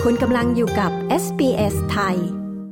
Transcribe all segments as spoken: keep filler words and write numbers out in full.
คุณกำลังอยู่กับ เอส บี เอส ไทย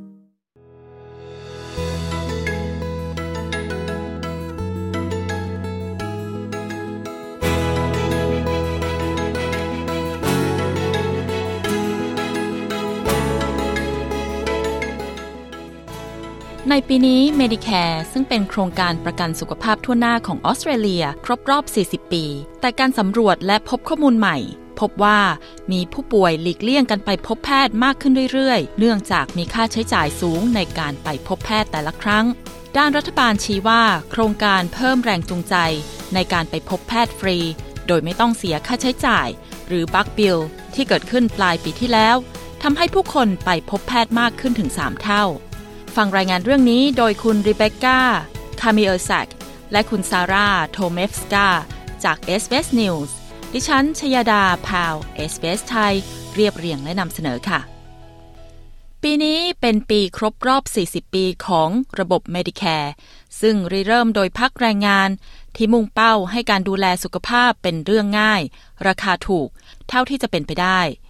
ในปีนี้ Medicare ซึ่งเป็นโครงการประกันสุขภาพทั่วหน้าของออสเตรเลียครบรอบสี่สิบปีแต่การสำรวจและพบข้อมูลใหม่พบว่ามีผู้ป่วยหลีกเลี่ยงการไปพบแพทย์มากขึ้นเรื่อยๆเนื่องจากมีค่าใช้จ่ายสูงในการไปพบแพทย์แต่ละครั้งด้านรัฐบาลชี้ว่าโครงการเพิ่มแรงจูงใจในการไปพบแพทย์ฟรีโดยไม่ต้องเสียค่าใช้จ่ายหรือบัคบิลที่เกิดขึ้นปลายปีที่แล้วทำให้ผู้คนไปพบแพทย์มากขึ้นถึงสามเท่าฟังรายงานเรื่องนี้โดยคุณริเบคก้า คามิเออร์แซกและคุณซาร่า โทเมฟสกาจาก เอส บี เอส News ดิฉันชยดา พาว เอส บี เอส ไทยเรียบเรียงและนำเสนอค่ะปีนี้เป็นปีครบรอบสี่สิบปีของระบบ Medicare ซึ่งริเริ่มโดยพรรคแรงงานที่มุ่งเป้าให้การดูแลสุขภาพเป็นเรื่องง่ายราคาถูกเท่าที่จะเป็นไปได้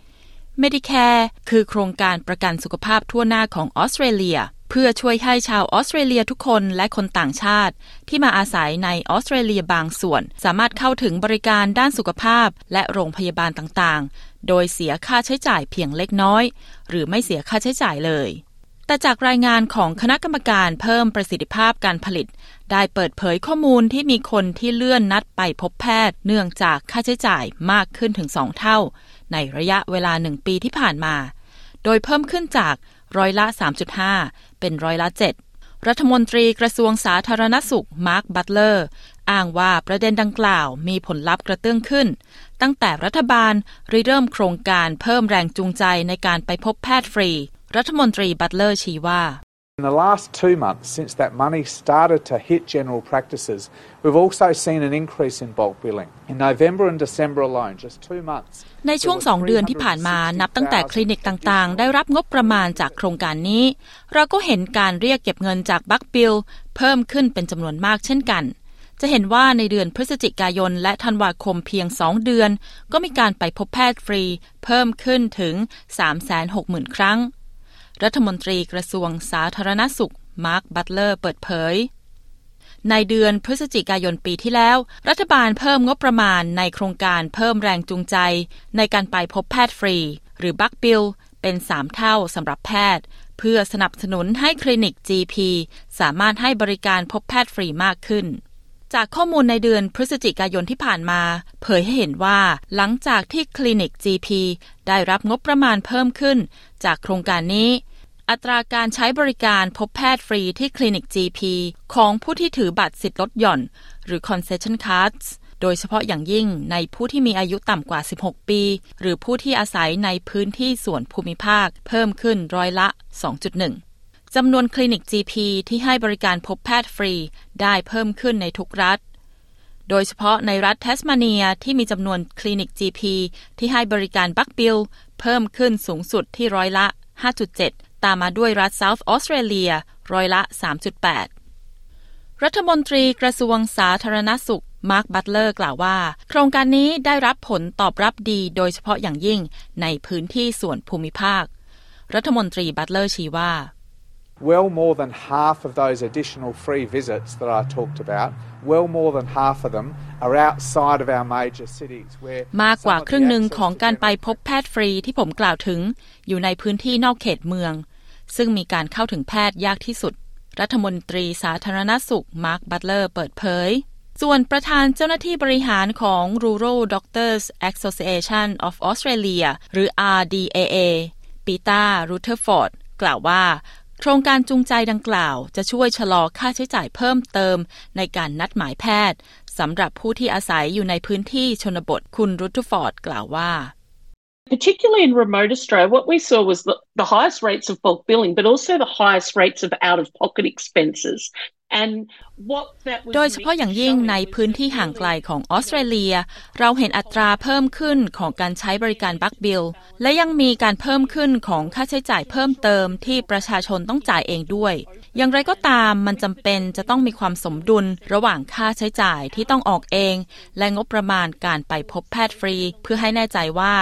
Medicare คือโครงการประกันสุขภาพทั่วหน้าของออสเตรเลียเพื่อช่วยให้ชาวออสเตรเลียทุกคนและคนต่างชาติที่มาอาศัยในออสเตรเลียบางส่วนสามารถเข้าถึงบริการด้านสุขภาพและโรงพยาบาลต่างๆโดยเสียค่าใช้จ่ายเพียงเล็กน้อยหรือไม่เสียค่าใช้จ่ายเลยแต่จากรายงานของคณะกรรมการเพิ่มประสิทธิภาพการผลิตได้เปิดเผยข้อมูลที่มีคนที่เลื่อนนัดไปพบแพทย์เนื่องจากค่าใช้จ่ายมากขึ้นถึงสองเท่าในระยะเวลาหนึ่งปีที่ผ่านมาโดยเพิ่มขึ้นจากร้อยละ สามจุดห้า เป็นร้อยละ เจ็ด รัฐมนตรีกระทรวงสาธารณสุขมาร์ค บัตเลอร์อ้างว่าประเด็นดังกล่าวมีผลลัพธ์กระเตื้องขึ้นตั้งแต่รัฐบาลริเริ่มโครงการเพิ่มแรงจูงใจในการไปพบแพทย์ฟรีรัฐมนตรีบัตเลอร์ชี้ว่า In the last two months, since that money started to hit general practices, we've also seen an increase in bulk billing. In November and December alone, just two months. ในช่วงสองเดือนที่ผ่านมานับตั้งแต่คลินิกต่างๆได้รับงบประมาณจากโครงการนี้เราก็เห็นการเรียกเก็บเงินจากบัคบิลเพิ่มขึ้นเป็นจำนวนมากเช่นกันจะเห็นว่าในเดือนพฤศจิกายนและธันวาคมเพียงสองเดือนก็มีการไปพบแพทย์ฟรีเพิ่มขึ้นถึง สามแสนหกหมื่น ครั้งรัฐมนตรีกระทรวงสาธารณสุขมาร์ค บัตเลอร์เปิดเผยในเดือนพฤศจิกายนปีที่แล้วรัฐบาลเพิ่มงบประมาณในโครงการเพิ่มแรงจูงใจในการไปพบแพทย์ฟรีหรือบัคบิลเป็นสามเท่าสำหรับแพทย์เพื่อสนับสนุนให้คลินิก จี พี สามารถให้บริการพบแพทย์ฟรีมากขึ้นจากข้อมูลในเดือนพฤศจิกายนที่ผ่านมาเผยให้เห็นว่าหลังจากที่คลินิก จี พี ได้รับงบประมาณเพิ่มขึ้นจากโครงการนี้อัตราการใช้บริการพบแพทย์ฟรีที่คลินิก จี พี ของผู้ที่ถือบัตรสิทธิ์ลดหย่อนหรือ concession cards โดยเฉพาะอย่างยิ่งในผู้ที่มีอายุต่ำกว่าสิบหกปีหรือผู้ที่อาศัยในพื้นที่ส่วนภูมิภาคเพิ่มขึ้นร้อยละ สองจุดหนึ่ง จำนวนคลินิก จี พี ที่ให้บริการพบแพทย์ฟรีได้เพิ่มขึ้นในทุกรัฐโดยเฉพาะในรัฐแทสมาเนียที่มีจำนวนคลินิก จี พี ที่ให้บริการบัคบิลเพิ่มขึ้นสูงสุดที่ร้อยละ ห้าจุดเจ็ดตามมาด้วยรัฐ South Australia ร้อยละ สามจุดแปด รัฐมนตรีกระทรวงสาธารณสุขมาร์ค บัตเลอร์กล่าวว่าโครงการนี้ได้รับผลตอบรับดีโดยเฉพาะอย่างยิ่งในพื้นที่ส่วนภูมิภาครัฐมนตรีบัตเลอร์ชี้ว่า Well more than half of those additional free visits that I talked about, well more than half of them are outside of our major cities where มากกว่าครึ่งหนึ่งของการไปพบแพทย์ฟรีที่ผมกล่าวถึงอยู่ในพื้นที่นอกเขตเมืองซึ่งมีการเข้าถึงแพทย์ยากที่สุดรัฐมนตรีสาธารณสุขมาร์ค บัตเลอร์เปิดเผยส่วนประธานเจ้าหน้าที่บริหารของ Rural Doctors Association of Australia หรือ อาร์ ดี เอ เอ ปีตา รูเทอร์ฟอร์ดกล่าวว่าโครงการจูงใจดังกล่าวจะช่วยชะลอค่าใช้จ่ายเพิ่มเติมในการนัดหมายแพทย์สำหรับผู้ที่อาศัยอยู่ในพื้นที่ชนบทคุณรูเทอร์ฟอร์ดกล่าวว่า Particularly in remote Australia, what we saw was the, the highest rates of bulk billing, but also the highest rates of out-of-pocket expenses. And what that was โดยเฉพาะอย่างยิ่งในพื้นที่ห่างไกลของออสเตรเลียเราเห็นอัตราเพิ่มขึ้นของการใช้บริการบัคบิลและยังมีการเพิ่มขึ้นของค่าใช้จ่ายเพิ่มเติมที่ประชาชนต้องจ่ายเองด้วยอย่างไรก็ตามมันจำเป็นจะต้องมีความสมดุลระหว่างค่าใช้จ่ายที่ต้องออกเองและงบประมาณการไปพบแพทย์ฟรีเพื่อให้แน่ใจว่า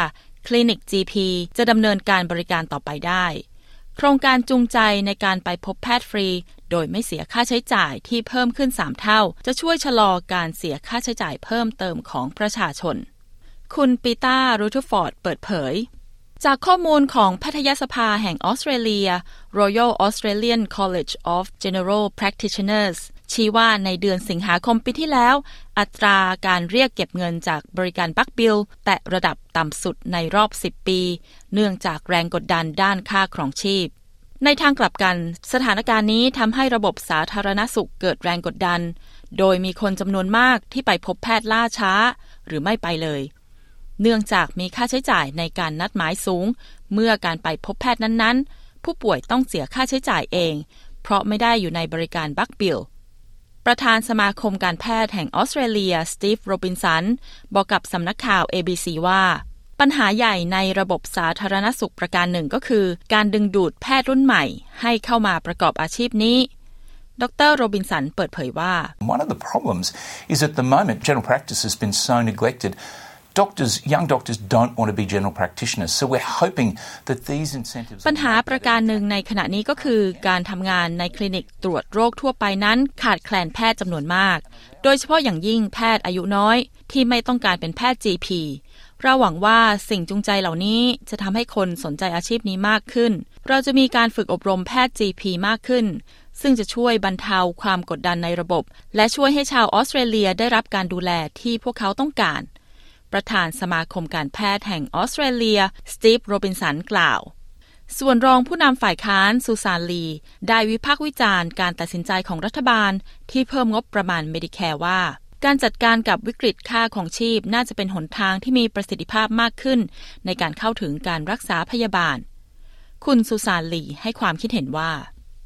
คลินิก จี พี จะดำเนินการบริการต่อไปได้โครงการจูงใจในการไปพบแพทย์ฟรีโดยไม่เสียค่าใช้จ่ายที่เพิ่มขึ้นสามเท่าจะช่วยชะลอการเสียค่าใช้จ่ายเพิ่มเติมของประชาชนคุณปีตารูทฟอร์ดเปิดเผยจากข้อมูลของแพทยสภาแห่งออสเตรเลีย Royal Australian College of General Practitioners ชี้ว่าในเดือนสิงหาคมปีที่แล้วอัตราการเรียกเก็บเงินจากบริการบัคบิลแตะระดับต่ำสุดในรอบสิบปีเนื่องจากแรงกดดันด้านค่าครองชีพในทางกลับกันสถานการณ์นี้ทำให้ระบบสาธารณสุขเกิดแรงกดดันโดยมีคนจำนวนมากที่ไปพบแพทย์ล่าช้าหรือไม่ไปเลยเนื่องจากมีค่าใช้จ่ายในการนัดหมายสูงเมื่อการไปพบแพทย์นั้นๆผู้ป่วยต้องเสียค่าใช้จ่ายเองเพราะไม่ได้อยู่ในบริการบัคบิลประธานสมาคมการแพทย์แห่งออสเตรเลียสตีฟโรบินสันบอกกับสำนักข่าว เอ บี ซี ว่าปัญหาใหญ่ในระบบสาธารณสุขประการหนึ่งก็คือการดึงดูดแพทย์รุ่นใหม่ให้เข้ามาประกอบอาชีพนี้ดรโรบินสันเปิดเผยว่า One of the problems is at the moment general practice has been so neglected Doctors, young doctors don't want to be general practitioners, so we're hoping that these incentives ปัญหาประการหนึ่งในขณะนี้ก็คือการทำงานในคลินิกตรวจโรคทั่วไปนั้นขาดแคลนแพทย์จำนวนมากโดยเฉพาะอย่างยิ่งแพทย์อายุน้อยที่ไม่ต้องการเป็นแพทย์ จี พี เราหวังว่าสิ่งจูงใจเหล่านี้จะทำให้คนสนใจอาชีพนี้มากขึ้นเราจะมีการฝึกอบรมแพทย์ จี พี มากขึ้นซึ่งจะช่วยบรรเทาความกดดันในระบบและช่วยให้ชาวออสเตรเลียได้รับการดูแลที่พวกเขาต้องการประธานสมาคมการแพทย์แห่งออสเตรเลียสตีฟโรบินสันกล่าวส่วนรองผู้นำฝ่ายค้านซูซานลีได้วิพากษ์วิจารณ์การตัดสินใจของรัฐบาลที่เพิ่มงบประมาณเมดิแคร์ว่าการจัดการกับวิกฤตค่าของชีพน่าจะเป็นหนทางที่มีประสิทธิภาพมากขึ้นในการเข้าถึงการรักษาพยาบาลคุณซูซานลีให้ความคิดเห็นว่า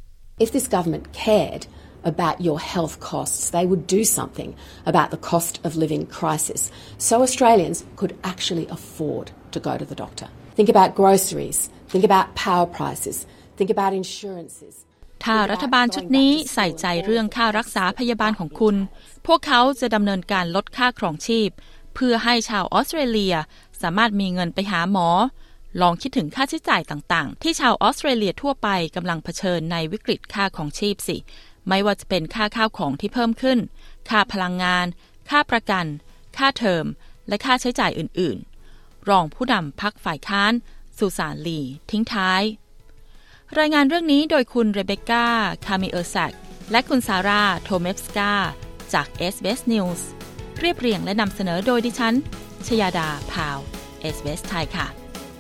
If this government cared about your health costs, they would do something about the cost of living crisis so Australians could actually afford to go to the doctor. Think about groceries, think about power prices, think about insurances. ถ้ารัฐบาลชุดนี้ใส่ใจเรื่องค่ารักษาพยาบาลของคุณพวกเขาจะดำเนินการลดค่าครองชีพเพื่อให้ชาวออสเตรเลียสามารถมีเงินไปหาหมอลองคิดถึงค่าใช้จ่ายต่างๆที่ชาวออสเตรเลียทั่วไปกำลังเผชิญในวิกฤตค่าครองชีพสิไม่ว่าจะเป็นค่าข้าวของที่เพิ่มขึ้นค่าพลังงานค่าประกันค่าเทอมและค่าใช้จ่ายอื่นๆรองผู้นำพรรคฝ่ายค้านซูซานลีทิ้งท้ายรายงานเรื่องนี้โดยคุณเรเบคก้าคามิเออร์แซกและคุณซาร่าโทเมฟสกาจาก เอส บี เอส News เรียบเรียงและนำเสนอโดยดิฉันชยาดาพาว เอส บี เอส ไทยค่ะ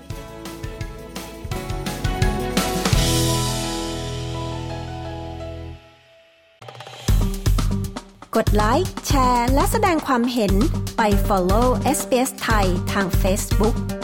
กดไลค์แชร์และแสดงความเห็นไป follow เอส บี เอส ไทยทาง Facebook